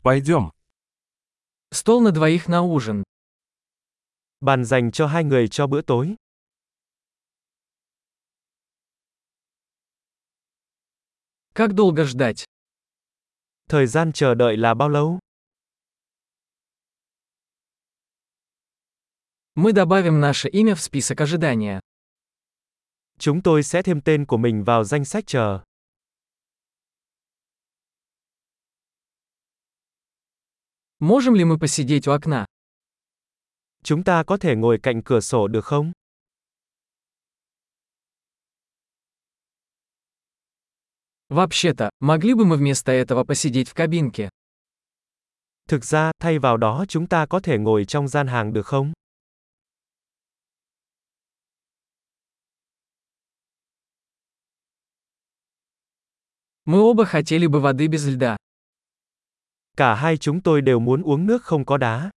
Пойдем. Стол на двоих на ужин. Bàn dành cho hai người cho bữa tối. Как долго ждать? Thời gian chờ đợi là bao lâu? Мы добавим наше имя в список ожидания. Chúng tôi sẽ thêm tên của mình vào danh sách chờ. Можем ли мы посидеть у окна? Chúng ta có thể ngồi cạnh cửa sổ được không? Вообще-то, могли бы мы вместо этого посидеть в кабинке? Thực ra, thay vào đó chúng ta có thể ngồi trong gian hàng được không? Мы оба хотели бы воды без льда. Cả hai chúng tôi đều muốn uống nước không có đá.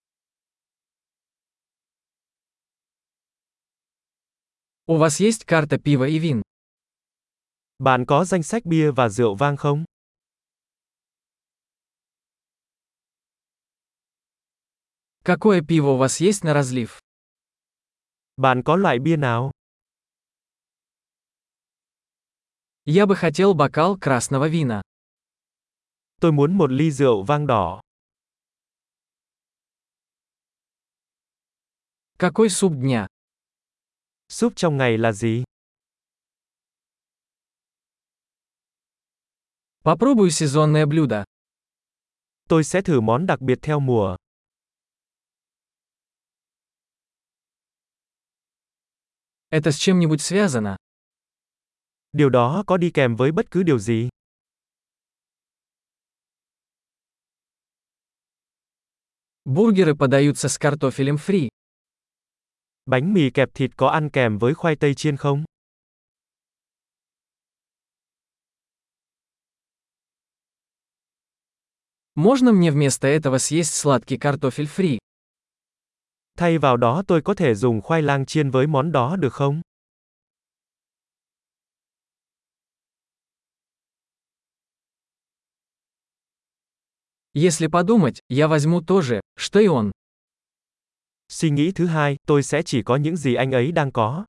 У вас есть карта пива и вин? Bạn có danh sách bia và rượu vang không? Какое пиво у вас есть на разлив? Bạn có loại bia nào? Я бы хотел бокал красного вина. Tôi muốn một ly rượu vang đỏ. Какой суп дня? Súp trong ngày là gì? Попробую сезонное блюдо. Tôi sẽ thử món đặc biệt theo mùa. Это с чем-нибудь связано? Điều đó có đi kèm với bất cứ điều gì? Бургеры подаются с картофелем фри. Bánh mì kẹp thịt có ăn kèm với khoai tây chiên không? Можно мне вместо этого съесть сладкий картофель фри? Thay vào đó tôi có thể dùng khoai lang chiên với món đó được không? Если подумать, я возьму то же, что и он. Suy nghĩ thứ hai, tôi sẽ chỉ có những gì anh ấy đang có.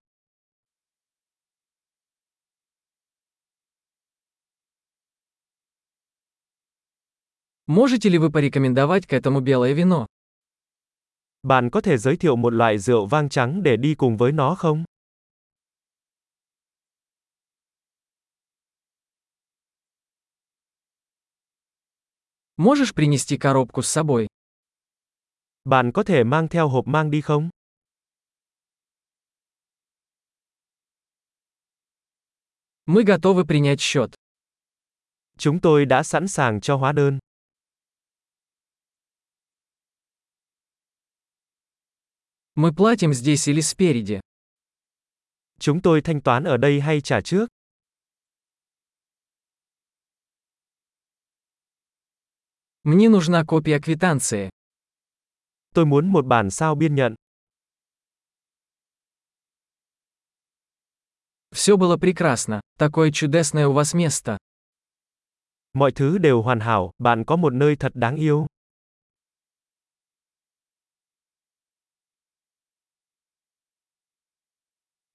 Можете ли вы порекомендовать к этому белое вино? Bạn có thể giới thiệu một loại rượu vang trắng để đi cùng với nó không? Можешь принести коробку с собой? Bạn có thể mang theo hộp mang đi không? Мы готовы принять счет. Chúng tôi đã sẵn sàng cho hóa đơn. Мы платим здесь или спереди? Chúng tôi thanh toán ở đây hay trả trước? Мне нужна копия квитанции. Tôi muốn một bản sao biên nhận. Все было прекрасно. Такое чудесное у вас место. Mọi thứ đều hoàn hảo, bạn có một nơi thật đáng yêu.